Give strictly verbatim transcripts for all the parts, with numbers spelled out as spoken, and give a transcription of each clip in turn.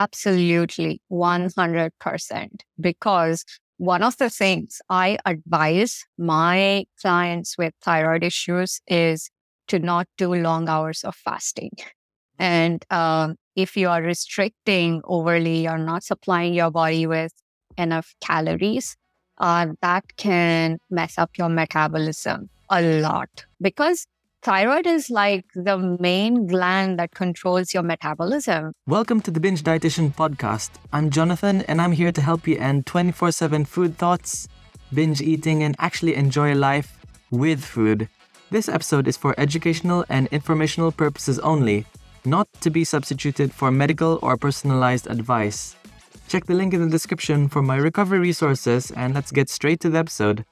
Absolutely, one hundred percent. Because one of the things I advise my clients with thyroid issues is to not do long hours of fasting. And um, if you are restricting overly, you're not supplying your body with enough calories, uh, that can mess up your metabolism a lot. Because thyroid is like the main gland that controls your metabolism. Welcome to the Binge Dietitian Podcast. I'm Jonathan, and I'm here to help you end twenty-four seven food thoughts, binge eating, and actually enjoy life with food. This episode is for educational and informational purposes only, not to be substituted for medical or personalized advice. Check the link in the description for my recovery resources, and let's get straight to the episode.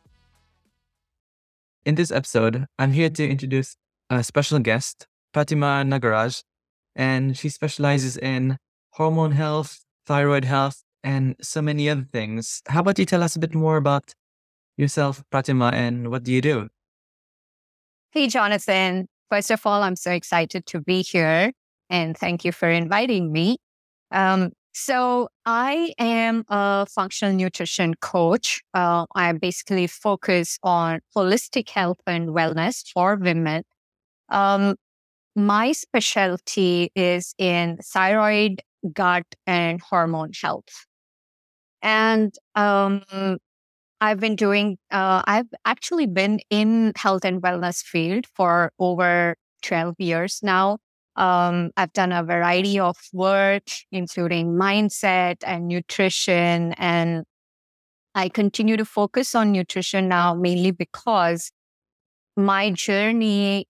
In this episode, I'm here to introduce a special guest, Pratima Nagaraj, and she specializes in hormone health, thyroid health, and so many other things. How about you tell us a bit more about yourself, Pratima, and what do you do? Hey, Jonathan. First of all, I'm so excited to be here, and thank you for inviting me. Um, so I am a functional nutrition coach. Uh, I basically focus on holistic health and wellness for women. Um, my specialty is in thyroid, gut, and hormone health. And um, I've been doing, uh, I've actually been in health and wellness field for over twelve years now. Um, I've done a variety of work, including mindset and nutrition. And I continue to focus on nutrition now, mainly because my journey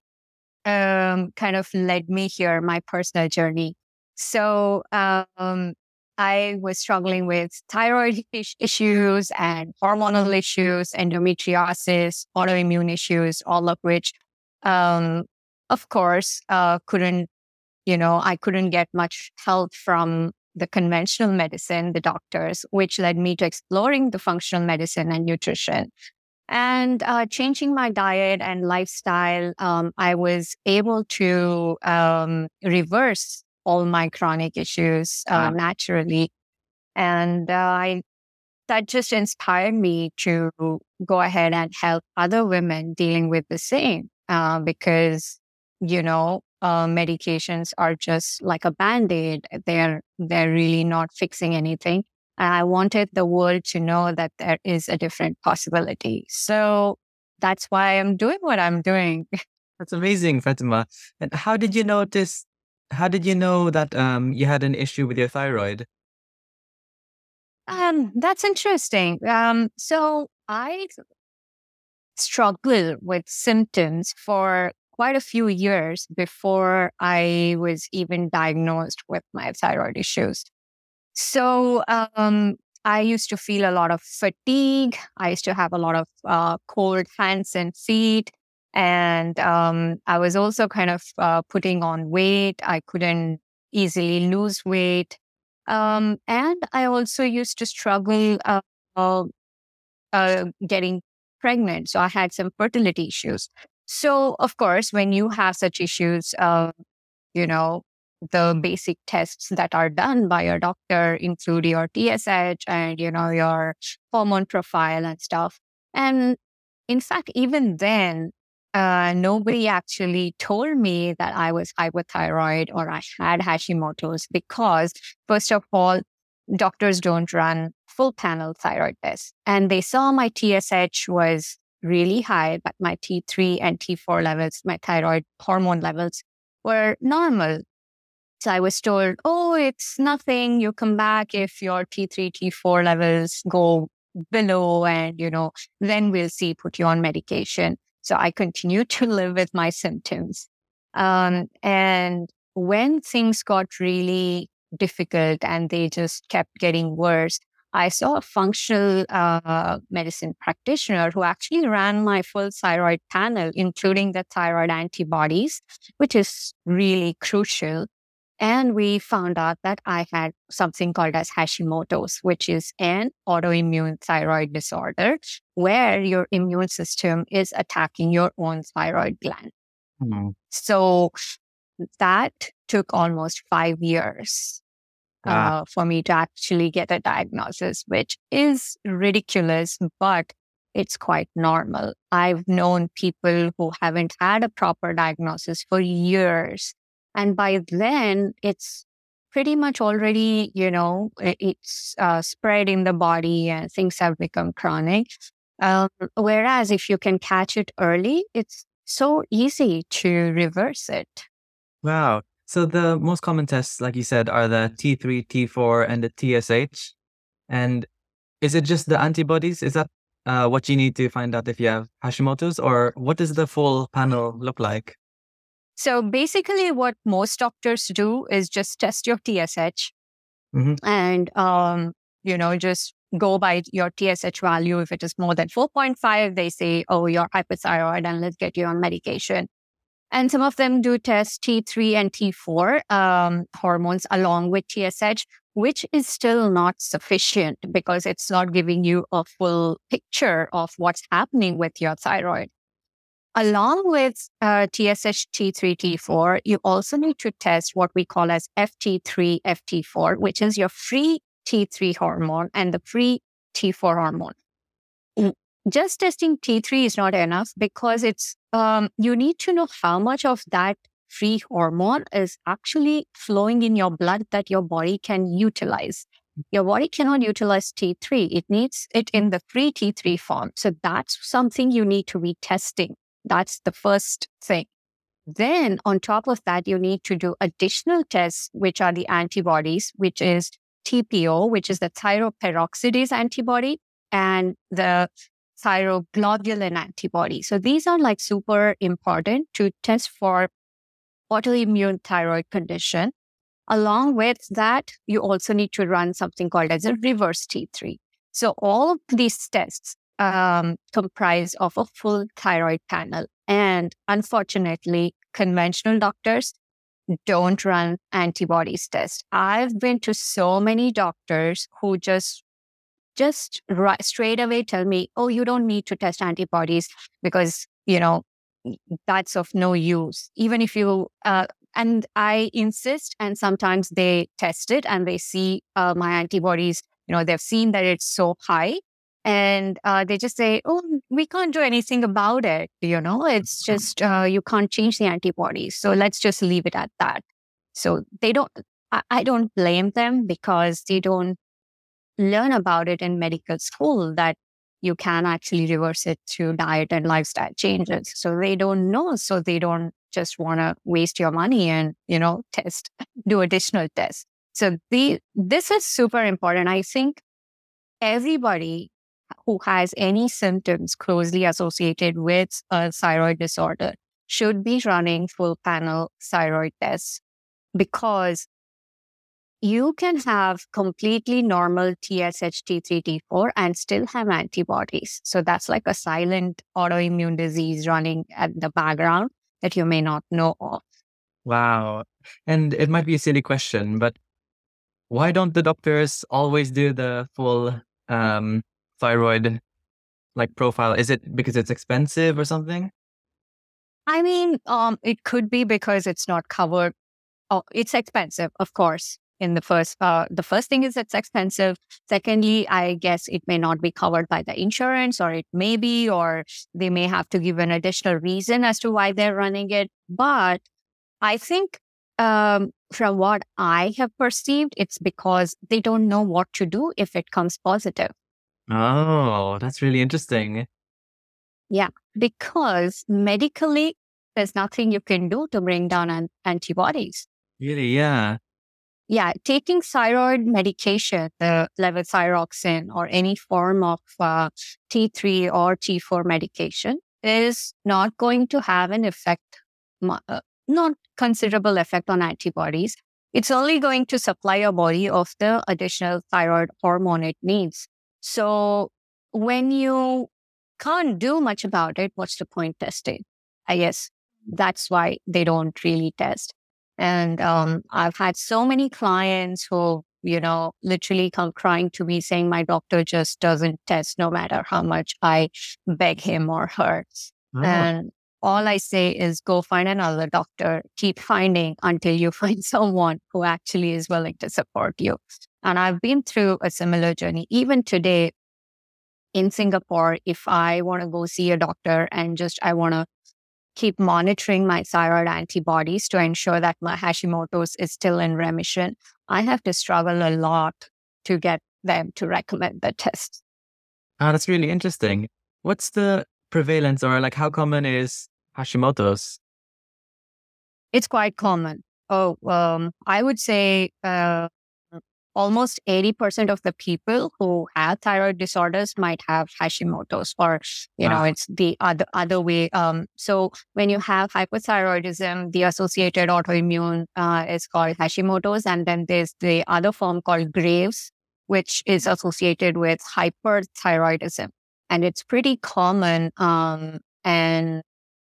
um, kind of led me here, my personal journey. So um, I was struggling with thyroid is- issues and hormonal issues, endometriosis, autoimmune issues, all of which, um, of course, uh, couldn't, you know, I couldn't get much help from the conventional medicine, the doctors, which led me to exploring the functional medicine and nutrition. And uh, changing my diet and lifestyle, um, I was able to um, reverse all my chronic issues uh, Wow. naturally. And uh, I, that just inspired me to go ahead and help other women dealing with the same uh, because, you know, uh, medications are just like a Band-Aid. They're, they're really not fixing anything. And I wanted the world to know that there is a different possibility. So that's why I'm doing what I'm doing. That's amazing, Pratima. And how did you notice, how did you know that um, you had an issue with your thyroid? Um, that's interesting. Um, so I struggled with symptoms for quite a few years before I was even diagnosed with my thyroid issues. So um, I used to feel a lot of fatigue. I used to have a lot of uh, cold hands and feet. And um, I was also kind of uh, putting on weight. I couldn't easily lose weight. Um, and I also used to struggle uh, uh, uh, getting pregnant. So I had some fertility issues. So, of course, when you have such issues, uh, you know, the basic tests that are done by your doctor include your T S H and, you know, your hormone profile and stuff. And in fact, even then, uh, nobody actually told me that I was hypothyroid or I had Hashimoto's because, first of all, doctors don't run full panel thyroid tests. And they saw my T S H was really high, but my T three and T four levels, my thyroid hormone levels, were normal. So I was told, oh, it's nothing. You come back if your T three, T four levels go below and, you know, then we'll see, put you on medication. So I continued to live with my symptoms. Um, and when things got really difficult and they just kept getting worse, I saw a functional uh, medicine practitioner who actually ran my full thyroid panel, including the thyroid antibodies, which is really crucial. And we found out that I had something called as Hashimoto's, which is an autoimmune thyroid disorder where your immune system is attacking your own thyroid gland. Hmm. So that took almost five years uh, for me to actually get a diagnosis, which is ridiculous, but it's quite normal. I've known people who haven't had a proper diagnosis for years. And by then, it's pretty much already, you know, it- it's uh, spread in the body and things have become chronic. Um, whereas if you can catch it early, it's so easy to reverse it. Wow. So the most common tests, like you said, are the T three, T four, and the T S H. And is it just the antibodies? Is that uh, what you need to find out if you have Hashimoto's, or what does the full panel look like? So basically, what most doctors do is just test your T S H Mm-hmm. and, um, you know, just go by your T S H value. If it is more than four point five, they say, oh, you're hypothyroid and let's get you on medication. And some of them do test T three and T four um, hormones along with T S H, which is still not sufficient because it's not giving you a full picture of what's happening with your thyroid. Along with uh, T S H, T three, T four, you also need to test what we call as F T three, F T four, which is your free T three hormone and the free T four hormone. Just testing T three is not enough because it's um, you need to know how much of that free hormone is actually flowing in your blood that your body can utilize. Your body cannot utilize T three. It needs it in the free T three form. So that's something you need to be testing. That's the first thing. Then on top of that, you need to do additional tests, which are the antibodies, which is T P O, which is the thyroperoxidase antibody, and the thyroglobulin antibody. So these are like super important to test for autoimmune thyroid condition. Along with that, you also need to run something called as a reverse T three. So all of these tests um, comprise of a full thyroid panel. And unfortunately, conventional doctors don't run antibodies test. I've been to so many doctors who just just right, straight away tell me, oh, you don't need to test antibodies because, you know, that's of no use. Even if you, uh, and I insist, and sometimes they test it and they see uh, my antibodies, you know, they've seen that it's so high. And uh, they just say, oh, we can't do anything about it. You know, it's just, uh, you can't change the antibodies. So let's just leave it at that. So they don't, I, I don't blame them because they don't learn about it in medical school that you can actually reverse it through diet and lifestyle changes. So they don't know. So they don't just want to waste your money and, you know, test, do additional tests. So the, this is super important. I think everybody who has any symptoms closely associated with a thyroid disorder should be running full panel thyroid tests because you can have completely normal T S H, T three, T four and still have antibodies. So that's like a silent autoimmune disease running at the background that you may not know of. Wow. And it might be a silly question, but why don't the doctors always do the full um, thyroid like profile? Is it because it's expensive or something? I mean, um, it could be because it's not covered. Oh, it's expensive, of course. In the first, uh, the first thing is it's expensive. Secondly, I guess it may not be covered by the insurance, or it may be, or they may have to give an additional reason as to why they're running it. But I think um, from what I have perceived, it's because they don't know what to do if it comes positive. Oh, that's really interesting. Yeah, because medically, there's nothing you can do to bring down an- antibodies. Really, yeah. Yeah, taking thyroid medication, the levothyroxine or any form of uh, T three or T four medication is not going to have an effect, uh, not considerable effect on antibodies. It's only going to supply your body of the additional thyroid hormone it needs. So when you can't do much about it, what's the point testing? I guess that's why they don't really test. And um, I've had so many clients who, you know, literally come crying to me saying, my doctor just doesn't test no matter how much I beg him or her. Oh, And all I say is go find another doctor, keep finding until you find someone who actually is willing to support you. And I've been through a similar journey. Even today in Singapore, if I want to go see a doctor and just I want to keep monitoring my thyroid antibodies to ensure that my Hashimoto's is still in remission, I have to struggle a lot to get them to recommend the test. Ah, that's really interesting. What's the prevalence, or like how common is Hashimoto's? It's quite common. Oh, um, I would say uh, almost eighty percent of the people who have thyroid disorders might have Hashimoto's, or, you know, Ah. it's the other, other way. Um, so when you have hypothyroidism, the associated autoimmune uh, is called Hashimoto's. And then there's the other form called Graves, which is associated with hyperthyroidism. And it's pretty common. Um, and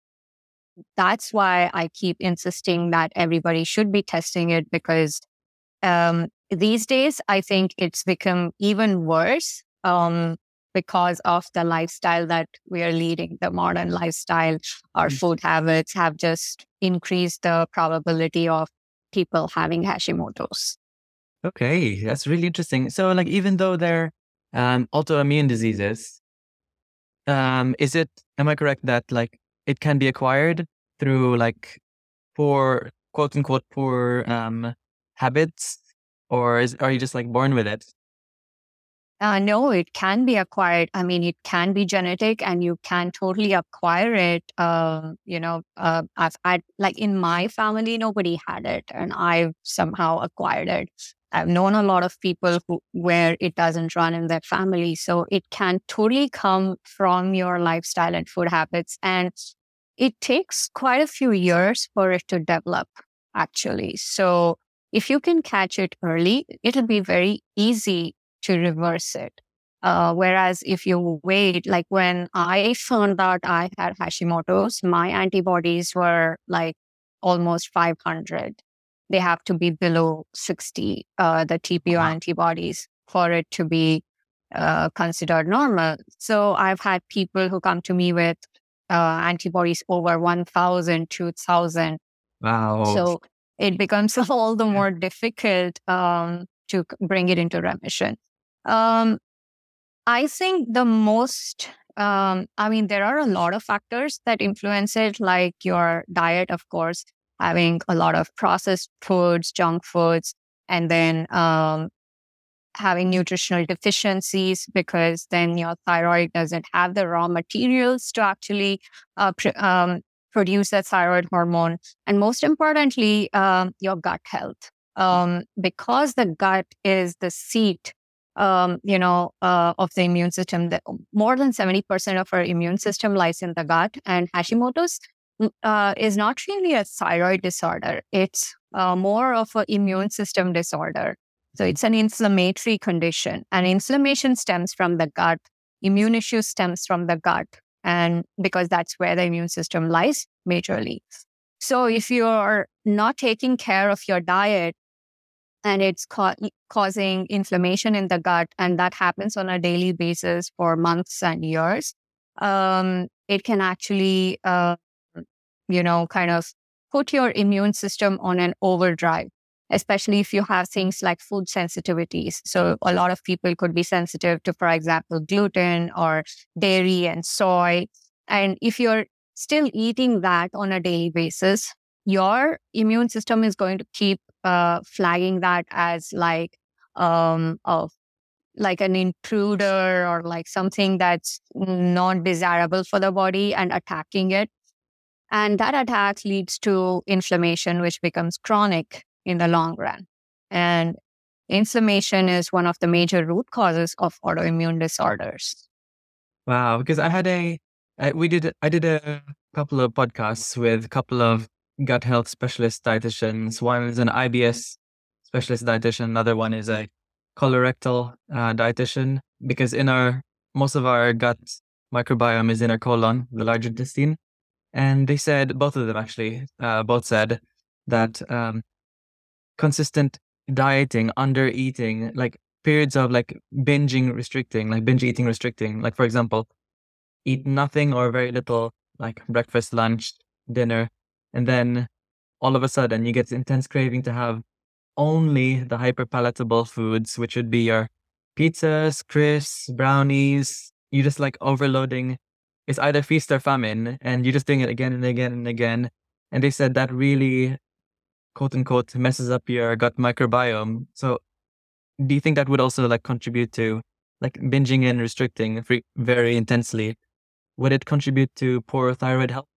that's why I keep insisting that everybody should be testing it, because um, these days, I think it's become even worse um, because of the lifestyle that we are leading, the modern lifestyle. Our food habits have just increased the probability of people having Hashimoto's. Okay, that's really interesting. So, like, even though they're um, autoimmune diseases, um, is it, am I correct that like it can be acquired through like poor, quote unquote, poor um, habits, or is, are you just like born with it? Uh, no, it can be acquired. I mean, it can be genetic, and you can totally acquire it. Uh, you know, uh, I've had, like in my family, nobody had it, and I've somehow acquired it. I've known a lot of people who where it doesn't run in their family, so it can totally come from your lifestyle and food habits, and it takes quite a few years for it to develop, actually. So if you can catch it early, it'll be very easy to reverse it. Uh, whereas if you wait, like when I found out I had Hashimoto's, my antibodies were like almost five hundred. They have to be below sixty, uh, the T P O Wow. antibodies, for it to be uh, considered normal. So I've had people who come to me with uh, antibodies over one thousand, two thousand. Wow. So it becomes all the more difficult um, to c- bring it into remission. Um, I think the most, um, I mean, there are a lot of factors that influence it, like your diet, of course, having a lot of processed foods, junk foods, and then um, having nutritional deficiencies, because then your thyroid doesn't have the raw materials to actually uh, pr- um, produce that thyroid hormone. And most importantly, um, your gut health. Um, because the gut is the seat, um, you know, uh, of the immune system. That more than seventy percent of our immune system lies in the gut, and Hashimoto's uh, is not really a thyroid disorder. It's uh, more of an immune system disorder. So it's an inflammatory condition, and inflammation stems from the gut. Immune issues stems from the gut, and because that's where the immune system lies majorly. So if you're not taking care of your diet, and it's ca- causing inflammation in the gut, and that happens on a daily basis for months and years, um, it can actually, uh, you know, kind of put your immune system on an overdrive, especially if you have things like food sensitivities. So a lot of people could be sensitive to, for example, gluten or dairy and soy. And if you're still eating that on a daily basis, your immune system is going to keep uh, flagging that as like um, a, like an intruder, or like something that's not desirable for the body, and attacking it. And that attack leads to inflammation, which becomes chronic in the long run. And inflammation is one of the major root causes of autoimmune disorders. Wow, because I had a, I, we did, I did a couple of podcasts with a couple of gut health specialist dietitians. One is an I B S specialist dietitian. Another one is a colorectal uh, dietitian, because in our, most of our gut microbiome is in our colon, the large intestine. And they said, both of them actually, uh, both said that um, consistent dieting, under eating, like periods of like binging restricting, like binge eating restricting, like for example, eat nothing or very little like breakfast, lunch, dinner, and then all of a sudden you get this intense craving to have only the hyper palatable foods, which would be your pizzas, crisps, brownies. You just like overloading. It's either feast or famine, and you're just doing it again and again and again. And they said that really, quote unquote, messes up your gut microbiome. So, do you think that would also like contribute to like binging and restricting fre- very intensely? Would it contribute to poor thyroid health?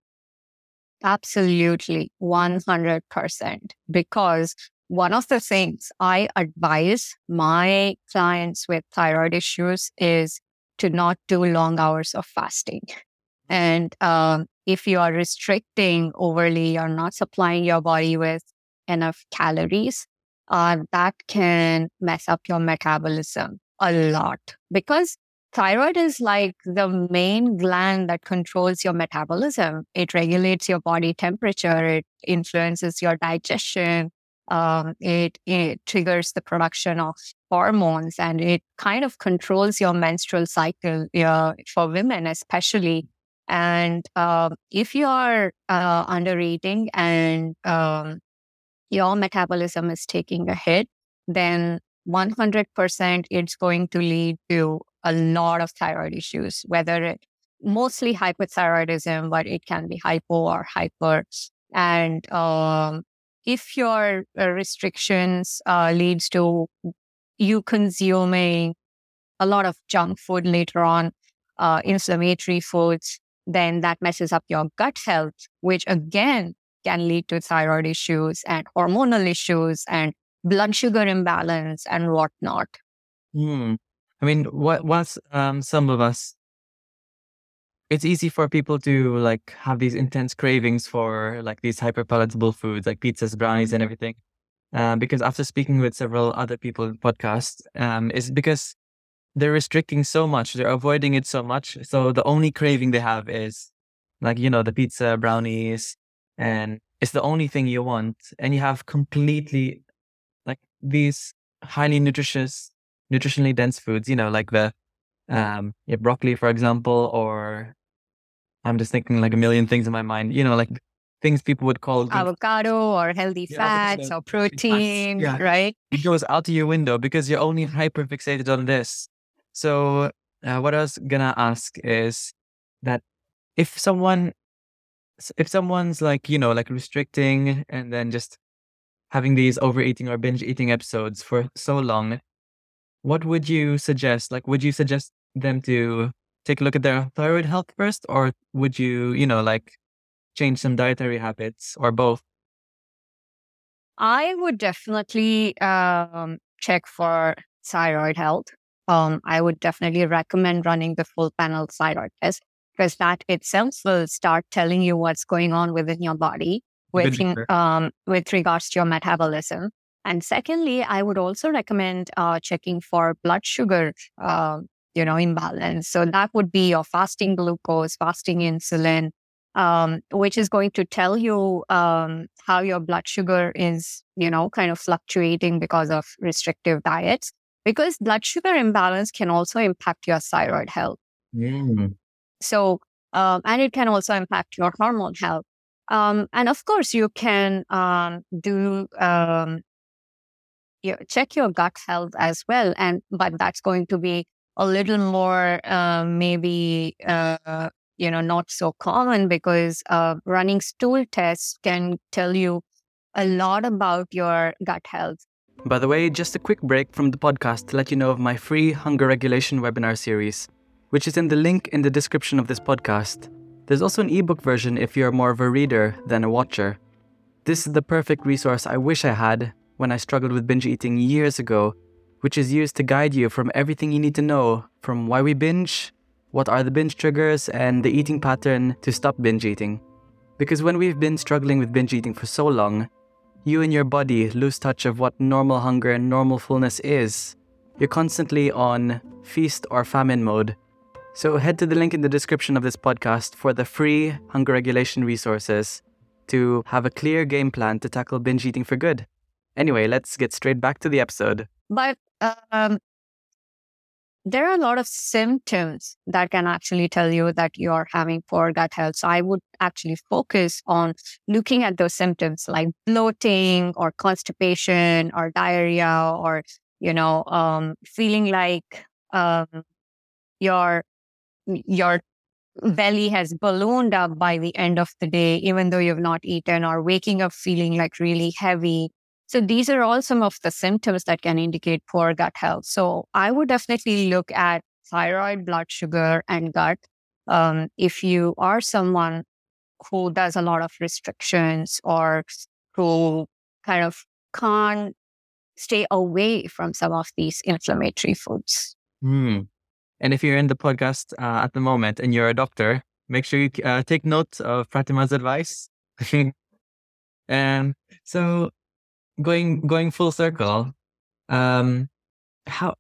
Absolutely, one hundred percent. Because one of the things I advise my clients with thyroid issues is to not do long hours of fasting. And um, if you are restricting overly, you're not supplying your body with enough calories, uh, that can mess up your metabolism a lot. Because thyroid is like the main gland that controls your metabolism. It regulates your body temperature, it influences your digestion, um, it, it triggers the production of hormones, and it kind of controls your menstrual cycle uh, for women, especially. And um, if you are uh, under eating and um, your metabolism is taking a hit, then one hundred percent it's going to lead to a lot of thyroid issues, whether it mostly hypothyroidism, but it can be hypo or hyper. And um, if your uh, restrictions uh, leads to you consuming a lot of junk food later on, uh, inflammatory foods, then that messes up your gut health, which again can lead to thyroid issues and hormonal issues and blood sugar imbalance and whatnot. Hmm. I mean, what what's um some of us, it's easy for people to like have these intense cravings for like these hyper palatable foods like pizzas, brownies, and everything. Um, because after speaking with several other people in podcasts, um, is because they're restricting so much, they're avoiding it so much. So the only craving they have is like, you know, the pizza, brownies, and it's the only thing you want. And you have completely like these highly nutritious, nutritionally dense foods, you know, like the um yeah, broccoli, for example, or I'm just thinking like a million things in my mind, you know, like things people would call good. Avocado or healthy Yeah, fats avocado, or healthy fats. protein, Yeah, right? it goes out of your window because you're only hyper fixated on this. So, uh, what I was gonna ask is that if someone, s- if someone's like, you know, like restricting and then just having these overeating or binge eating episodes for so long, what would you suggest? Like, would you suggest them to take a look at their thyroid health first, or would you, you know, like change some dietary habits, or both? I would definitely um, check for thyroid health. Um, I would definitely recommend running the full panel thyroid test, because that itself will start telling you what's going on within your body Good with, to in- hear. um, with regards to your metabolism. And secondly, I would also recommend uh, checking for blood sugar, uh, you know, imbalance. So that would be your fasting glucose, fasting insulin, um, which is going to tell you um, how your blood sugar is, you know, kind of fluctuating because of restrictive diets. Because blood sugar imbalance can also impact your thyroid health. Mm. So, um, and it can also impact your hormone health. Um, and of course, you can um, do um, you check your gut health as well. And but that's going to be a little more uh, maybe uh, you know not so common, because uh, running stool tests can tell you a lot about your gut health. By the way, just a quick break from the podcast to let you know of my free hunger regulation webinar series, which is in the link in the description of this podcast. There's also an ebook version if you're more of a reader than a watcher. This is the perfect resource I wish I had when I struggled with binge eating years ago, which is used to guide you from everything you need to know, from why we binge, what are the binge triggers, and the eating pattern to stop binge eating. Because when we've been struggling with binge eating for so long, you and your body lose touch of what normal hunger and normal fullness is. You're constantly on feast or famine mode. So head to the link in the description of this podcast for the free hunger regulation resources to have a clear game plan to tackle binge eating for good. Anyway, let's get straight back to the episode. But um, there are a lot of symptoms that can actually tell you that you're having poor gut health. So I would actually focus on looking at those symptoms like bloating or constipation or diarrhea or, you know, um, feeling like um, your your belly has ballooned up by the end of the day, even though you've not eaten, or waking up feeling like really heavy. So these are all some of the symptoms that can indicate poor gut health. So I would definitely look at thyroid, blood sugar, and gut. Um, if you are someone who does a lot of restrictions or who kind of can't stay away from some of these inflammatory foods. Hmm. And if you're in the podcast uh, at the moment and you're a doctor, make sure you uh, take note of Pratima's advice. And so going going full circle, um, how?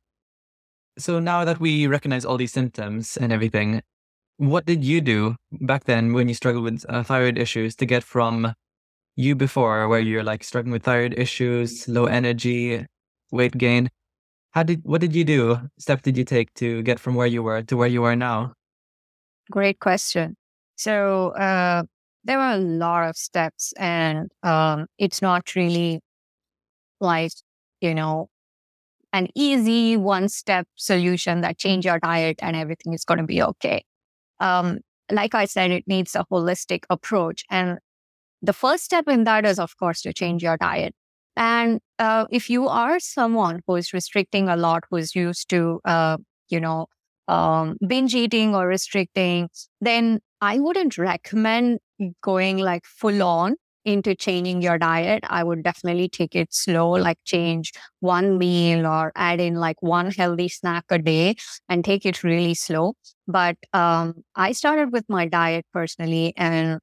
So now that we recognize all these symptoms and everything, what did you do back then when you struggled with uh, thyroid issues to get from you before, where you're like struggling with thyroid issues, low energy, weight gain? How did what did you do? Steps did you take to get from where you were to where you are now? Great question. So uh, there were a lot of steps, and um, it's not really like, you know, an easy one step solution that change your diet and everything is going to be okay. Um, like I said, it needs a holistic approach. And the first step in that is, of course, to change your diet. And uh, if you are someone who is restricting a lot, who is used to, uh, you know, um, binge eating or restricting, then I wouldn't recommend going like full on into changing your diet. I would definitely take it slow, like change one meal or add in like one healthy snack a day and take it really slow. But um, I started with my diet personally, and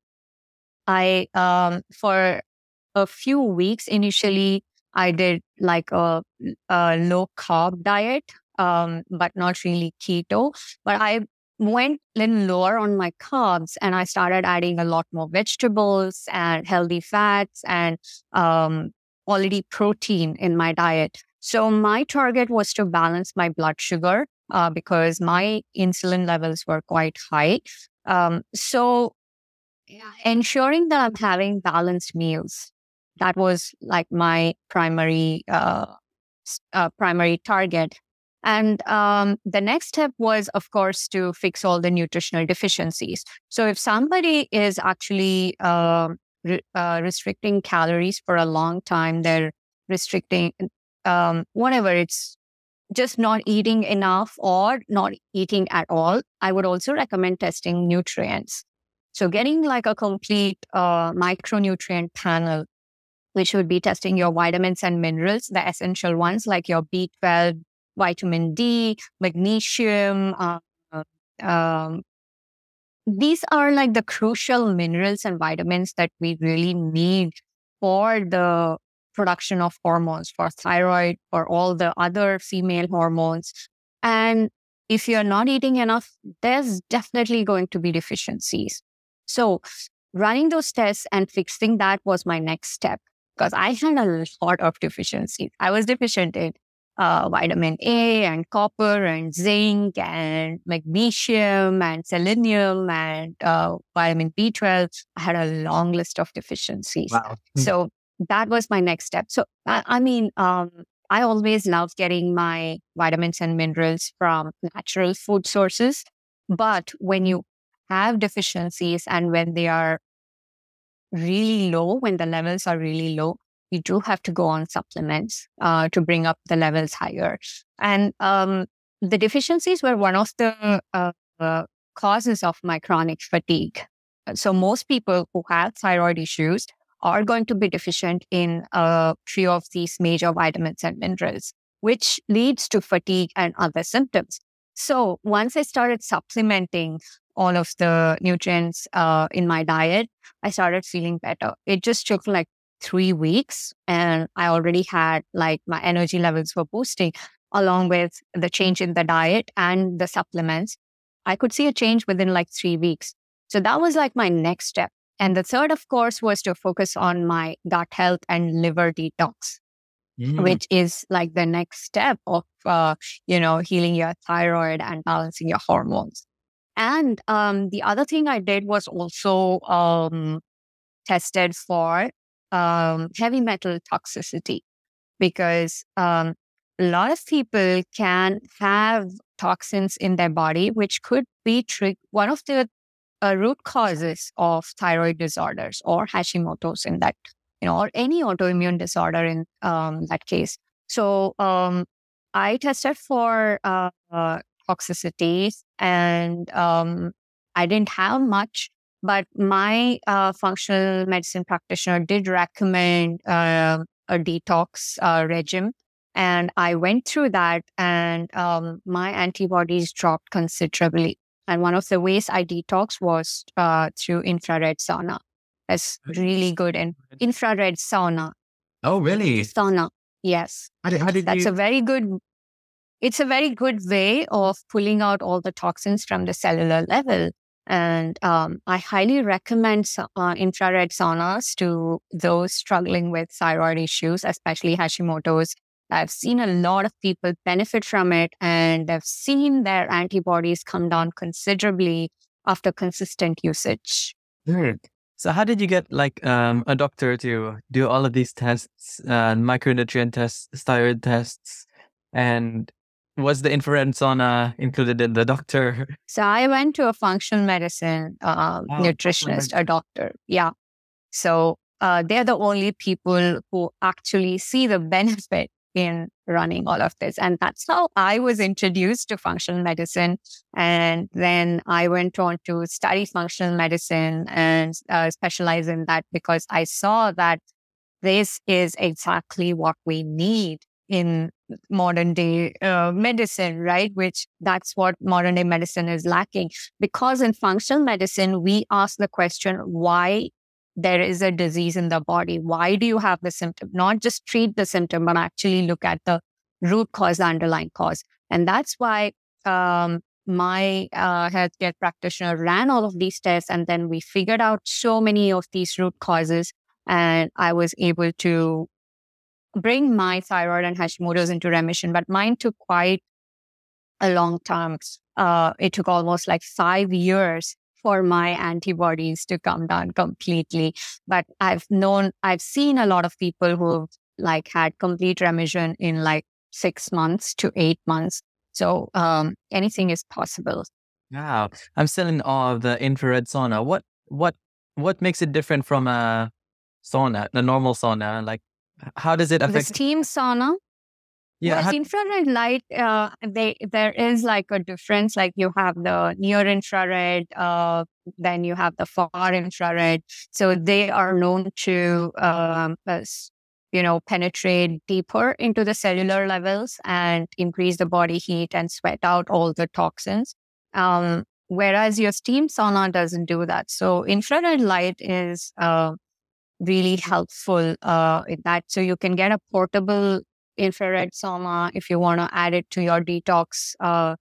I, um, for a few weeks initially, I did like a, a low carb diet, um, but not really keto. But I went a little lower on my carbs and I started adding a lot more vegetables and healthy fats and um, quality protein in my diet. So my target was to balance my blood sugar uh, because my insulin levels were quite high. Um, so yeah, ensuring that I'm having balanced meals. That was like my primary uh, s- uh, primary target. And um, the next step was, of course, to fix all the nutritional deficiencies. So if somebody is actually um re- uh, restricting calories for a long time, they're restricting um, whatever it's just not eating enough or not eating at all, I would also recommend testing nutrients. So getting like a complete uh, micronutrient panel, which would be testing your vitamins and minerals, the essential ones like your B twelve, vitamin D, magnesium. Uh, um, these are like the crucial minerals and vitamins that we really need for the production of hormones, for thyroid, for all the other female hormones. And if you're not eating enough, there's definitely going to be deficiencies. So running those tests and fixing that was my next step because I had a lot of deficiencies. I was deficient in uh, vitamin A and copper and zinc and magnesium and selenium and uh, vitamin B twelve. I had a long list of deficiencies. Wow. So that was my next step. So, I, I mean, um, I always loved getting my vitamins and minerals from natural food sources. But when you have deficiencies and when they are really low, when the levels are really low, you do have to go on supplements uh, to bring up the levels higher. And um, the deficiencies were one of the uh, uh, causes of my chronic fatigue. So most people who have thyroid issues are going to be deficient in a few of these major vitamins and minerals, which leads to fatigue and other symptoms. So once I started supplementing all of the nutrients uh, in my diet, I started feeling better. It just took like three weeks and I already had like my energy levels were boosting along with the change in the diet and the supplements. I could see a change within like three weeks. So that was like my next step. And the third, of course, was to focus on my gut health and liver detox. Mm. which is like the next step of, uh, you know, healing your thyroid and balancing your hormones. And um, the other thing I did was also um, tested for um, heavy metal toxicity, because um, a lot of people can have toxins in their body, which could be tri- one of the uh, root causes of thyroid disorders or Hashimoto's in that, you know, or any autoimmune disorder in um, that case. So um, I tested for uh, uh, toxicities, and um, I didn't have much, but my uh, functional medicine practitioner did recommend uh, a detox uh, regime. And I went through that, and um, my antibodies dropped considerably. And one of the ways I detox was uh, through infrared sauna. It's really good. And infrared sauna, Oh, really? sauna, yes. How did, how did That's you? a very good, it's a very good way of pulling out all the toxins from the cellular level. And um, I highly recommend sa- uh, infrared saunas to those struggling with thyroid issues, especially Hashimoto's. I've seen a lot of people benefit from it, and I've seen their antibodies come down considerably after consistent usage. Hmm. So how did you get like um, a doctor to do all of these tests, uh, micronutrient tests, thyroid tests, and was the infrared sauna included in the doctor? So I went to a functional medicine um, Oh, nutritionist, a doctor. Yeah. So uh, they're the only people who actually see the benefit in running all of this. And that's how I was introduced to functional medicine. And then I went on to study functional medicine and uh, specialize in that, because I saw that this is exactly what we need in modern day uh, medicine, right? Which that's what modern day medicine is lacking. Because in functional medicine, we ask the question, why there is a disease in the body? Why do you have the symptom? Not just treat the symptom, but actually look at the root cause, the underlying cause. And that's why um, my uh, healthcare practitioner ran all of these tests. And then we figured out so many of these root causes. And I was able to bring my thyroid and Hashimoto's into remission. But mine took quite a long time. Uh, it took almost like five years for my antibodies to come down completely. But I've known, I've seen a lot of people who've like had complete remission in like six months to eight months. So um, anything is possible. Wow, I'm still in awe of the infrared sauna. What what what makes it different from a sauna, the normal sauna? Like, h- how does it The affect? steam sauna, Yeah, well, how, infrared light, uh, they there is like a difference. Like you have the near infrared, uh, then you have the far infrared. So they are known to, um, as, you know, penetrate deeper into the cellular levels and increase the body heat and sweat out all the toxins. Um, whereas your steam sauna doesn't do that. So infrared light is uh, really helpful uh, in that. So you can get a portable infrared sauna if you want to add it to your detox uh,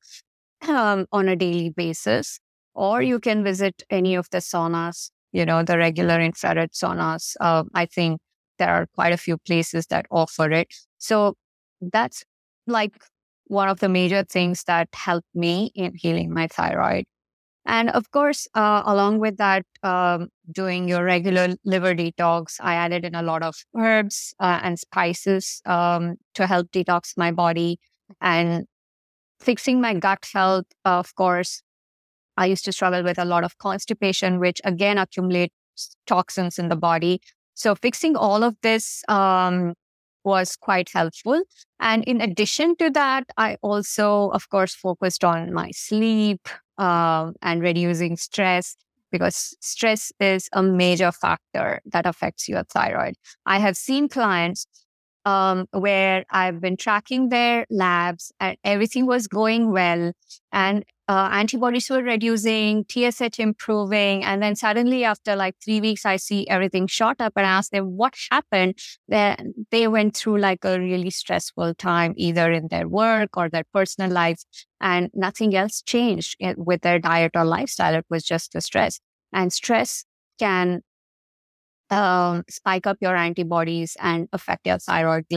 um, on a daily basis, or you can visit any of the saunas, you know, the regular infrared saunas. Uh, I think there are quite a few places that offer it. So that's like one of the major things that helped me in healing my thyroid. And of course, uh, along with that, um, doing your regular liver detox, I added in a lot of herbs uh, and spices um, to help detox my body and fixing my gut health. Of course, I used to struggle with a lot of constipation, which again accumulates toxins in the body. So fixing all of this um, was quite helpful. And in addition to that, I also, of course, focused on my sleep um, and reducing stress, because stress is a major factor that affects your thyroid. I have seen clients um, where I've been tracking their labs and everything was going well, and uh, antibodies were reducing, T S H improving. And then suddenly after like three weeks, I see everything shot up and I ask them what happened. Then they went through like a really stressful time, either in their work or their personal life, and nothing else changed i- with their diet or lifestyle. It was just the stress. And stress can um, spike up your antibodies and affect your thyroid gland.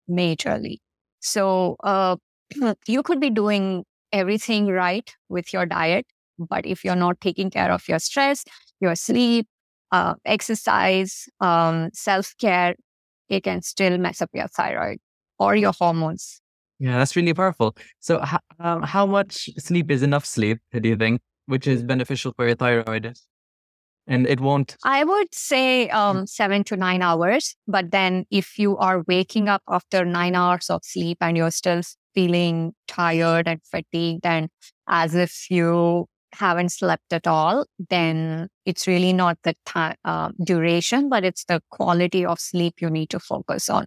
majorly. So uh, you could be doing everything right with your diet, but if you're not taking care of your stress, your sleep, uh, exercise, um, self-care, it can still mess up your thyroid or your hormones. Yeah, that's really powerful. So, h- um, how much sleep is enough sleep, do you think, which is beneficial for your thyroid? And it won't. I would say um, seven to nine hours. But then if you are waking up after nine hours of sleep and you're still feeling tired and fatigued and as if you haven't slept at all, then it's really not the time uh, duration, but it's the quality of sleep you need to focus on.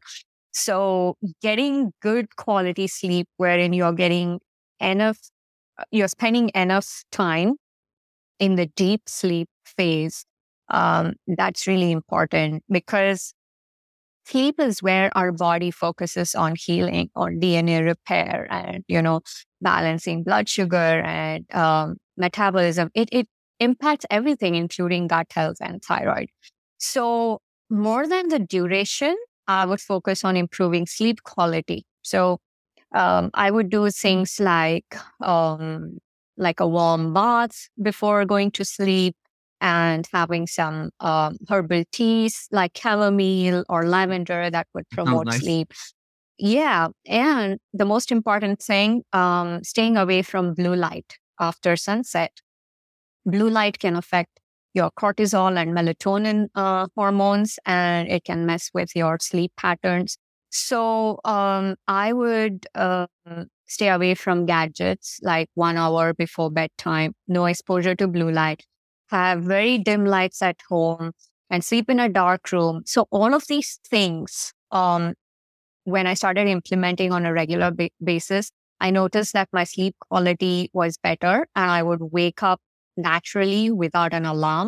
So getting good quality sleep wherein you're getting enough, you're spending enough time in the deep sleep phase, um, that's really important because sleep is where our body focuses on healing, on D N A repair, and you know balancing blood sugar and um, metabolism. It it impacts everything, including gut health and thyroid. So more than the duration, I would focus on improving sleep quality. So um, I would do things like um, like a warm bath before going to sleep and having some um, herbal teas like chamomile or lavender that would Sounds promote nice. sleep. Yeah. And the most important thing, um, staying away from blue light after sunset. Blue light can affect your cortisol and melatonin uh, hormones, and it can mess with your sleep patterns. So um, I would uh, stay away from gadgets like one hour before bedtime, no exposure to blue light, have very dim lights at home, and sleep in a dark room. So all of these things, um, when I started implementing on a regular ba- basis, I noticed that my sleep quality was better and I would wake up naturally without an alarm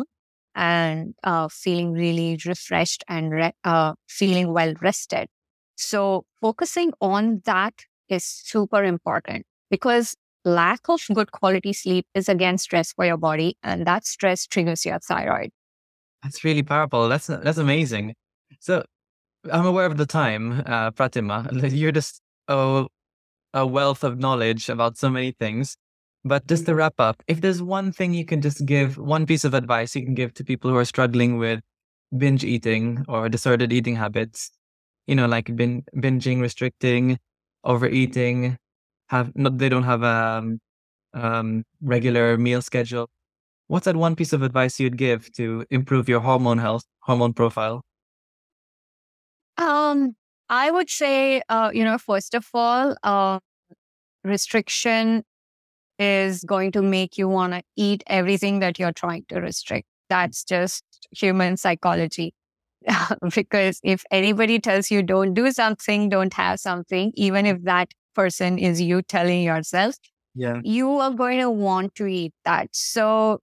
and uh, feeling really refreshed and re- uh, feeling well rested. So, focusing on that is super important because lack of good quality sleep is again stress for your body, and that stress triggers your thyroid. That's really powerful. That's that's amazing. So, I'm aware of the time, uh, Pratima. You're just a, a wealth of knowledge about so many things. But just to wrap up, if there's one thing you can just give, one piece of advice you can give to people who are struggling with binge eating or disordered eating habits, you know, like bin, binging, restricting, overeating, have not they don't have a um, um, regular meal schedule. What's that one piece of advice you'd give to improve your hormone health, hormone profile? Um, I would say, uh, you know, first of all, uh, restriction is going to make you want to eat everything that you're trying to restrict. That's just human psychology. Because if anybody tells you don't do something, don't have something, even if that person is you telling yourself, Yeah. you are going to want to eat that. So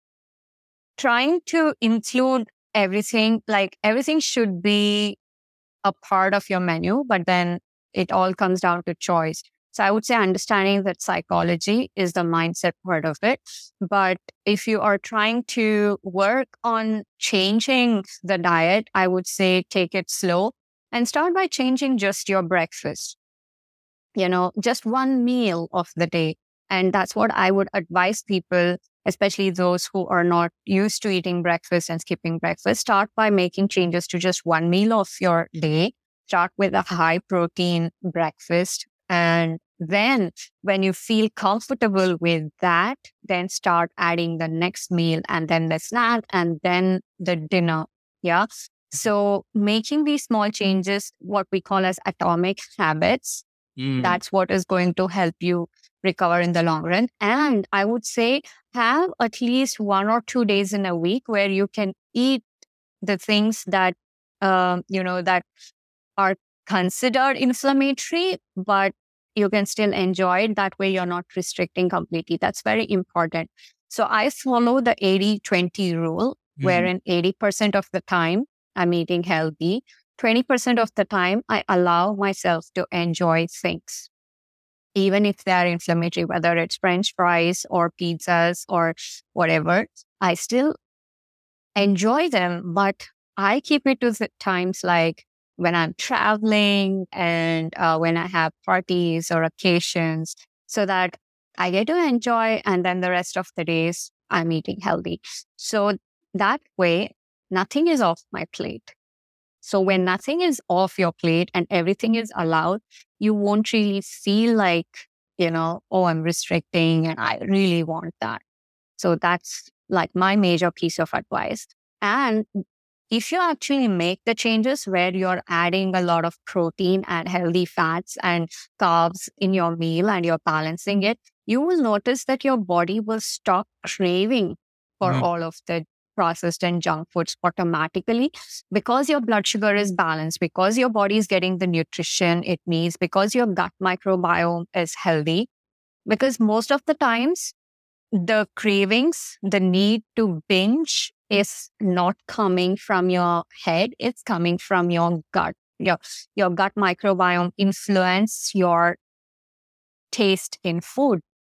trying to include everything, like everything should be a part of your menu, but then it all comes down to choice. So I would say understanding that psychology is the mindset part of it. But if you are trying to work on changing the diet, I would say take it slow and start by changing just your breakfast, you know, just one meal of the day. And that's what I would advise people, especially those who are not used to eating breakfast and skipping breakfast. Start by making changes to just one meal of your day. Start with a high protein breakfast. And then when you feel comfortable with that, then start adding the next meal and then the snack and then the dinner. Yeah. So making these small changes, what we call as atomic habits, Mm. that's what is going to help you recover in the long run. And I would say have at least one or two days in a week where you can eat the things that, um, you know, that are considered inflammatory, but you can still enjoy it. That way you're not restricting completely. That's very important. So I follow the eighty twenty rule, Mm. wherein eighty percent of the time I'm eating healthy. twenty percent of the time I allow myself to enjoy things, even if they are inflammatory, whether it's French fries or pizzas or whatever. I still enjoy them, but I keep it to the times like when I'm traveling and uh, when I have parties or occasions, so that I get to enjoy. And then the rest of the days, I'm eating healthy. So that way, nothing is off my plate. So when nothing is off your plate and everything is allowed, you won't really feel like, you know, oh, I'm restricting and I really want that. So that's like my major piece of advice. And if you actually make the changes where you're adding a lot of protein and healthy fats and carbs in your meal and you're balancing it, you will notice that your body will stop craving for Mhm. all of the processed and junk foods automatically, because your blood sugar is balanced, because your body is getting the nutrition it needs, because your gut microbiome is healthy. Because most of the times, the cravings, the need to binge is not coming from your head, it's coming from your gut. Your, your gut microbiome influence your taste in food.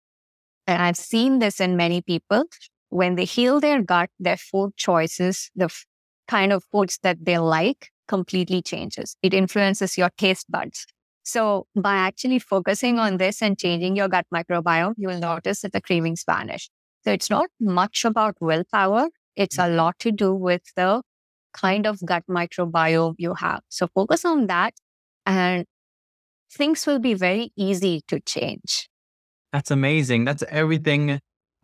And I've seen this in many people. When they heal their gut, their food choices, the f- kind of foods that they like completely changes. It influences your taste buds. So by actually focusing on this and changing your gut microbiome, you will notice that the cravings vanish. So it's not much about willpower. It's a lot to do with the kind of gut microbiome you have. So focus on that and things will be very easy to change. That's amazing. That's everything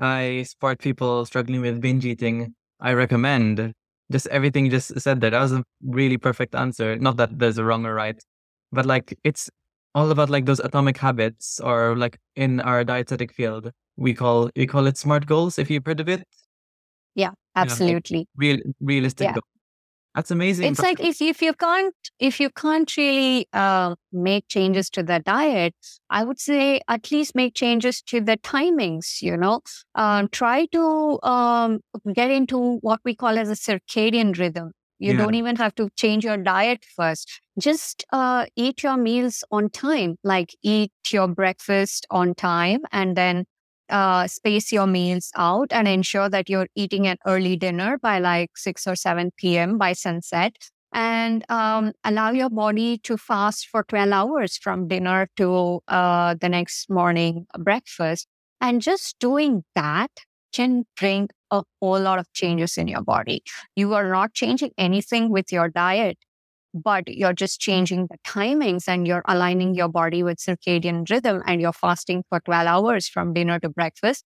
I support people struggling with binge eating. I recommend just everything you just said there. That was a really perfect answer. Not that there's a wrong or right, but like it's all about like those atomic habits, or like in our dietetic field, we call we call it SMART goals. If you've heard of it, Yeah, yeah, like absolutely. real realistic Yeah. goals. That's amazing. It's like if if you can't if you can't really uh, make changes to the diet, I would say at least make changes to the timings. You know, um, try to um, get into what we call as a circadian rhythm. You Yeah. don't even have to change your diet first. Just uh, eat your meals on time. Like eat your breakfast on time, and then uh, space your meals out and ensure that you're eating an early dinner by like six or seven p m by sunset, and um, allow your body to fast for twelve hours from dinner to uh, the next morning breakfast. And just doing that can bring a whole lot of changes in your body. You are not changing anything with your diet, but you're just changing the timings and you're aligning your body with circadian rhythm and you're fasting for twelve hours from dinner to breakfast.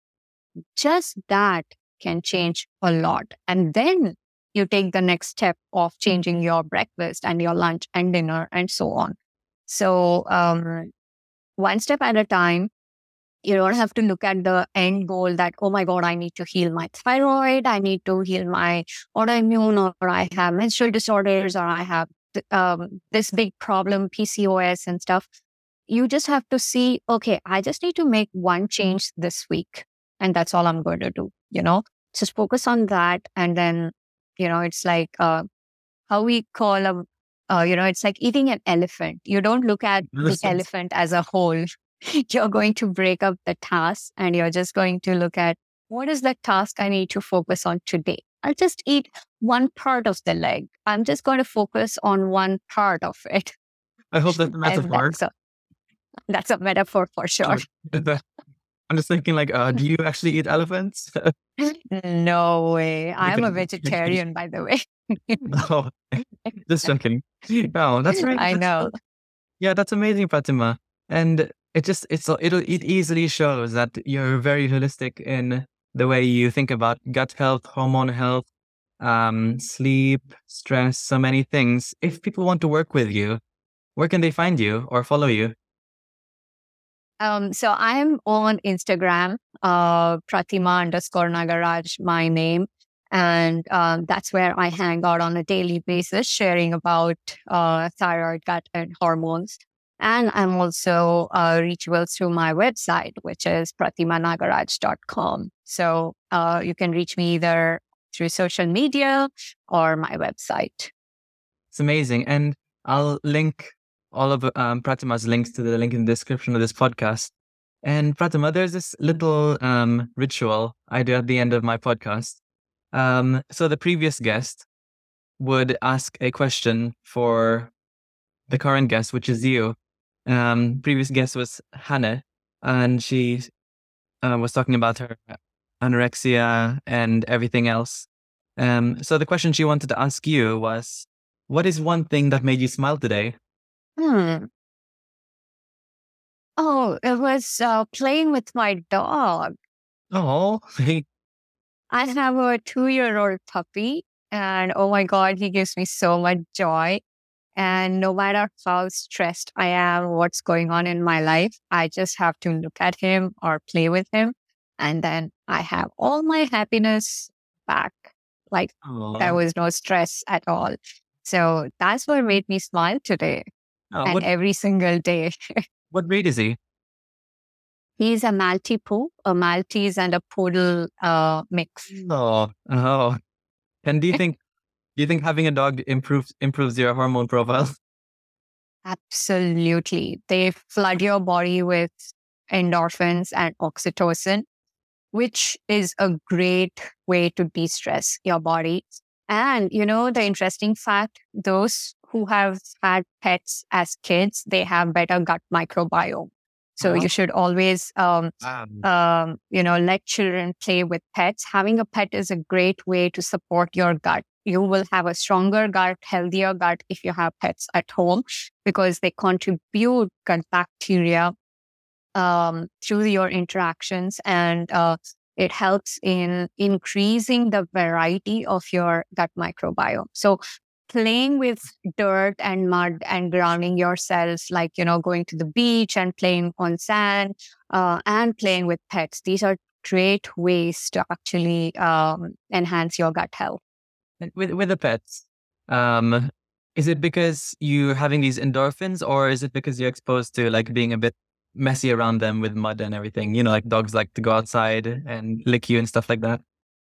Just that can change a lot. And then you take the next step of changing your breakfast and your lunch and dinner and so on. So, um, one step at a time. You don't have to look at the end goal that, oh my God, I need to heal my thyroid, I need to heal my autoimmune, or I have menstrual disorders, or I have th- um, this big problem, P C O S and stuff. You just have to see, okay, I just need to make one change this week. And that's all I'm going to do, you know? Just focus on that. And then, you know, it's like uh, how we call a, uh, you know, it's like eating an elephant. You don't look at the Understood. elephant as a whole. You're going to break up the task and you're just going to look at what is the task I need to focus on today. I'll just eat one part of the leg. I'm just going to focus on one part of it. I hope that's a And metaphor. that's a, that's a metaphor for sure. Sure. I'm just thinking, like, uh, do you actually eat elephants? No way. I'm a Okay. vegetarian, by the way. No, just joking. No, that's right. I That's know. so, yeah, that's amazing, Fatima. And it just it's it'll it easily shows that you're very holistic in the way you think about gut health, hormone health, um, sleep, stress, so many things. If people want to work with you, where can they find you or follow you? Um, so I'm on Instagram, uh, Pratima underscore Nagaraj, my name. And um, that's where I hang out on a daily basis, sharing about uh, thyroid, gut, and hormones. And I'm also uh, reachable through my website, which is pratima nagaraj dot com. So uh, you can reach me either through social media or my website. It's amazing. And I'll link all of um, Pratima's links to the link in the description of this podcast. And Pratima, there's this little um, ritual I do at the end of my podcast. Um, so the previous guest would ask a question for the current guest, which is you. Um, previous guest was Hannah, and she uh, was talking about her anorexia and everything else. Um, so the question she wanted to ask you was, what is one thing that made you smile today? Hmm. Oh, it was uh, playing with my dog. Oh, I have a two year old puppy, and oh my God, he gives me so much joy. And no matter how stressed I am, what's going on in my life, I just have to look at him or play with him. And then I have all my happiness back. Like there oh, was no stress at all. So that's what made me smile today oh, and what every single day. what breed is he? He's a Maltipoo, a Maltese and a Poodle uh, mix. Oh, oh. And do you think do you think having a dog improves improves your hormone profile? Absolutely. They flood your body with endorphins and oxytocin, which is a great way to de stress your body. And, you know, the interesting fact those who have had pets as kids, they have better gut microbiome. So Oh, you should always, um, wow. um, you know, let children play with pets. Having a pet is a great way to support your gut. You will have a stronger gut, healthier gut if you have pets at home because they contribute gut bacteria um, through your interactions, and uh, it helps in increasing the variety of your gut microbiome. So playing with dirt and mud and grounding yourself, like, you know, going to the beach and playing on sand uh, and playing with pets, these are great ways to actually um, enhance your gut health. And with with the pets, um, is it because you're having these endorphins, or is it because you're exposed to like being a bit messy around them with mud and everything? You know, like dogs like to go outside and lick you and stuff like that.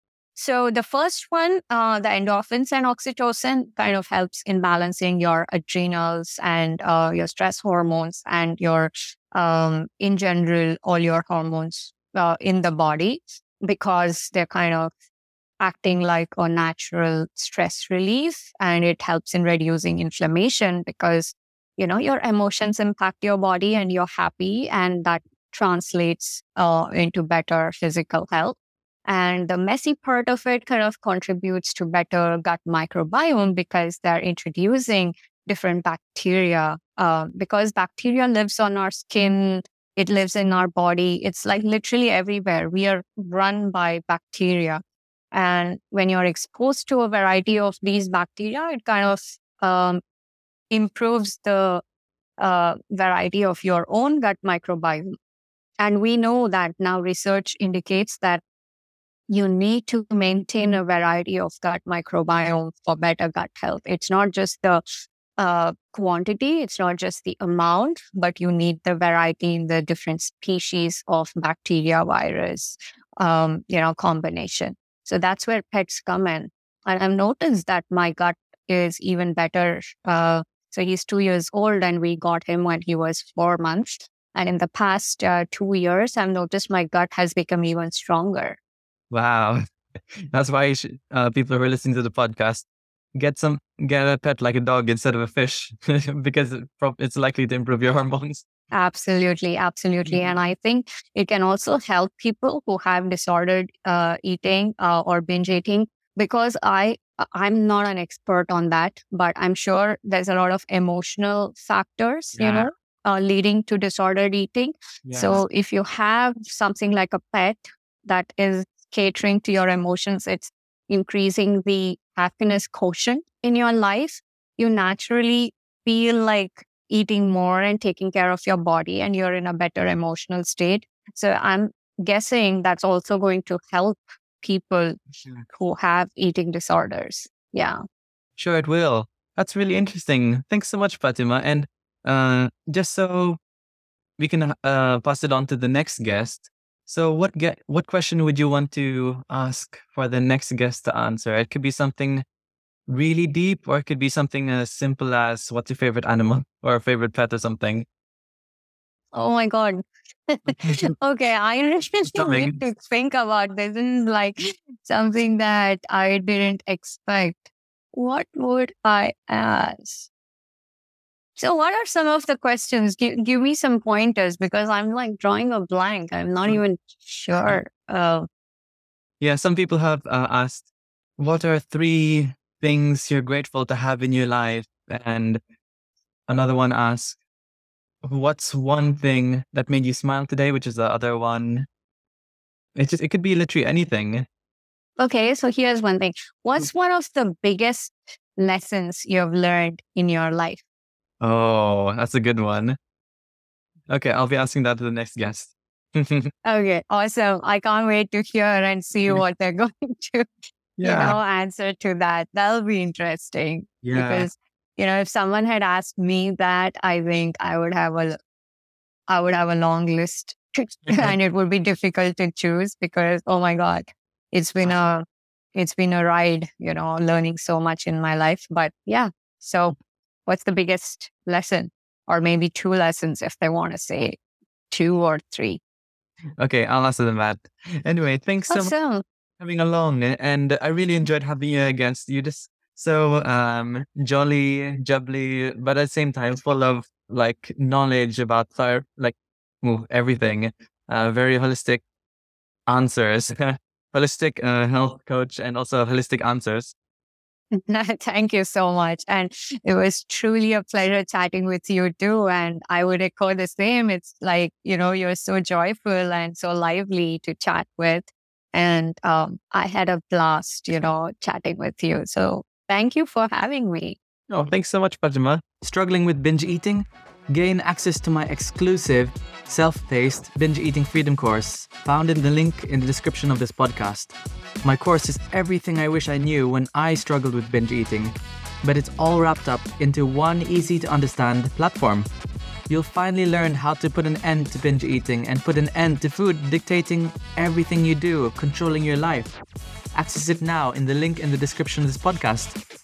So the first one, uh, the endorphins and oxytocin kind of helps in balancing your adrenals and uh, your stress hormones and your, um, in general, all your hormones uh, in the body because they're kind of acting like a natural stress relief, and it helps in reducing inflammation because, you know, your emotions impact your body and you're happy, and that translates uh, into better physical health. And the messy part of it kind of contributes to better gut microbiome because they're introducing different bacteria. Uh, because bacteria lives on our skin, it lives in our body. It's like literally everywhere. We are run by bacteria. And when you're exposed to a variety of these bacteria, it kind of um, improves the uh, variety of your own gut microbiome. And we know that now research indicates that you need to maintain a variety of gut microbiome for better gut health. It's not just the uh, quantity, it's not just the amount, but you need the variety in the different species of bacteria, virus, um, you know, combination. So that's where pets come in. And I've noticed that my gut is even better. Uh, so he's two years old, and we got him when he was four months. And in the past uh, two years, I've noticed my gut has become even stronger. Wow, that's why you should, uh, people who are listening to the podcast get some get a pet like a dog instead of a fish because it prob- it's likely to improve your hormones. Absolutely, absolutely. Mhm. And I think it can also help people who have disordered uh, eating uh, or binge eating because I I'm not an expert on that, but I'm sure there's a lot of emotional factors, you Yeah, know, uh, leading to disordered eating. yeah. So if you have something like a pet that is catering to your emotions, it's increasing the happiness quotient in your life, you naturally feel like eating more and taking care of your body, and you're in a better emotional state. So I'm guessing that's also going to help people Sure, who have eating disorders. Yeah. Sure, it will. That's really interesting. Thanks so much, Fatima. And uh, just so we can uh, pass it on to the next guest. So, what get what question would you want to ask for the next guest to answer? It could be something really deep, or it could be something as simple as what's your favorite animal or a favorite pet or something. Oh my God. Okay, I really It's need coming. to think about this. This is like something that I didn't expect. What would I ask? So what are some of the questions? Give, give me some pointers because I'm like drawing a blank. I'm not even sure. Uh, Yeah, some people have uh, asked, what are three things you're grateful to have in your life? And another one asks, what's one thing that made you smile today? Which is the other one. It's just, it could be literally anything. okay, so here's one thing. What's one of the biggest lessons you've learned in your life? Oh, that's a good one. Okay, I'll be asking that to the next guest. Okay, awesome. I can't wait to hear and see what they're going to, Yeah. you know, answer to that. That'll be interesting. Yeah. Because, you know, if someone had asked me that, I think I would have a, I would have a long list and it would be difficult to choose because, oh my God, it's been a, it's been a ride, you know, learning so much in my life. But yeah, so what's the biggest lesson? Or maybe two lessons if they want to say two or three. Okay, I'll answer them that. Anyway, thanks so much Awesome. for coming along. And I really enjoyed having you against you. Just so um jolly, jubbly, but at the same time full of like knowledge about thyroid, like well, everything. Uh, very holistic answers. Holistic uh, health coach and also holistic answers. Thank you so much. And it was truly a pleasure chatting with you too. And I would echo the same. It's like, you know, you're so joyful and so lively to chat with. And um, I had a blast, you know, chatting with you. So thank you for having me. Oh, thanks so much, Pajama. Struggling with binge eating? Gain access to my exclusive self-paced binge eating freedom course found in the link in the description of this podcast. My course is everything I wish I knew when I struggled with binge eating, but it's all wrapped up into one easy to understand platform. You'll finally learn how to put an end to binge eating and put an end to food dictating everything you do, controlling your life. Access it now in the link in the description of this podcast.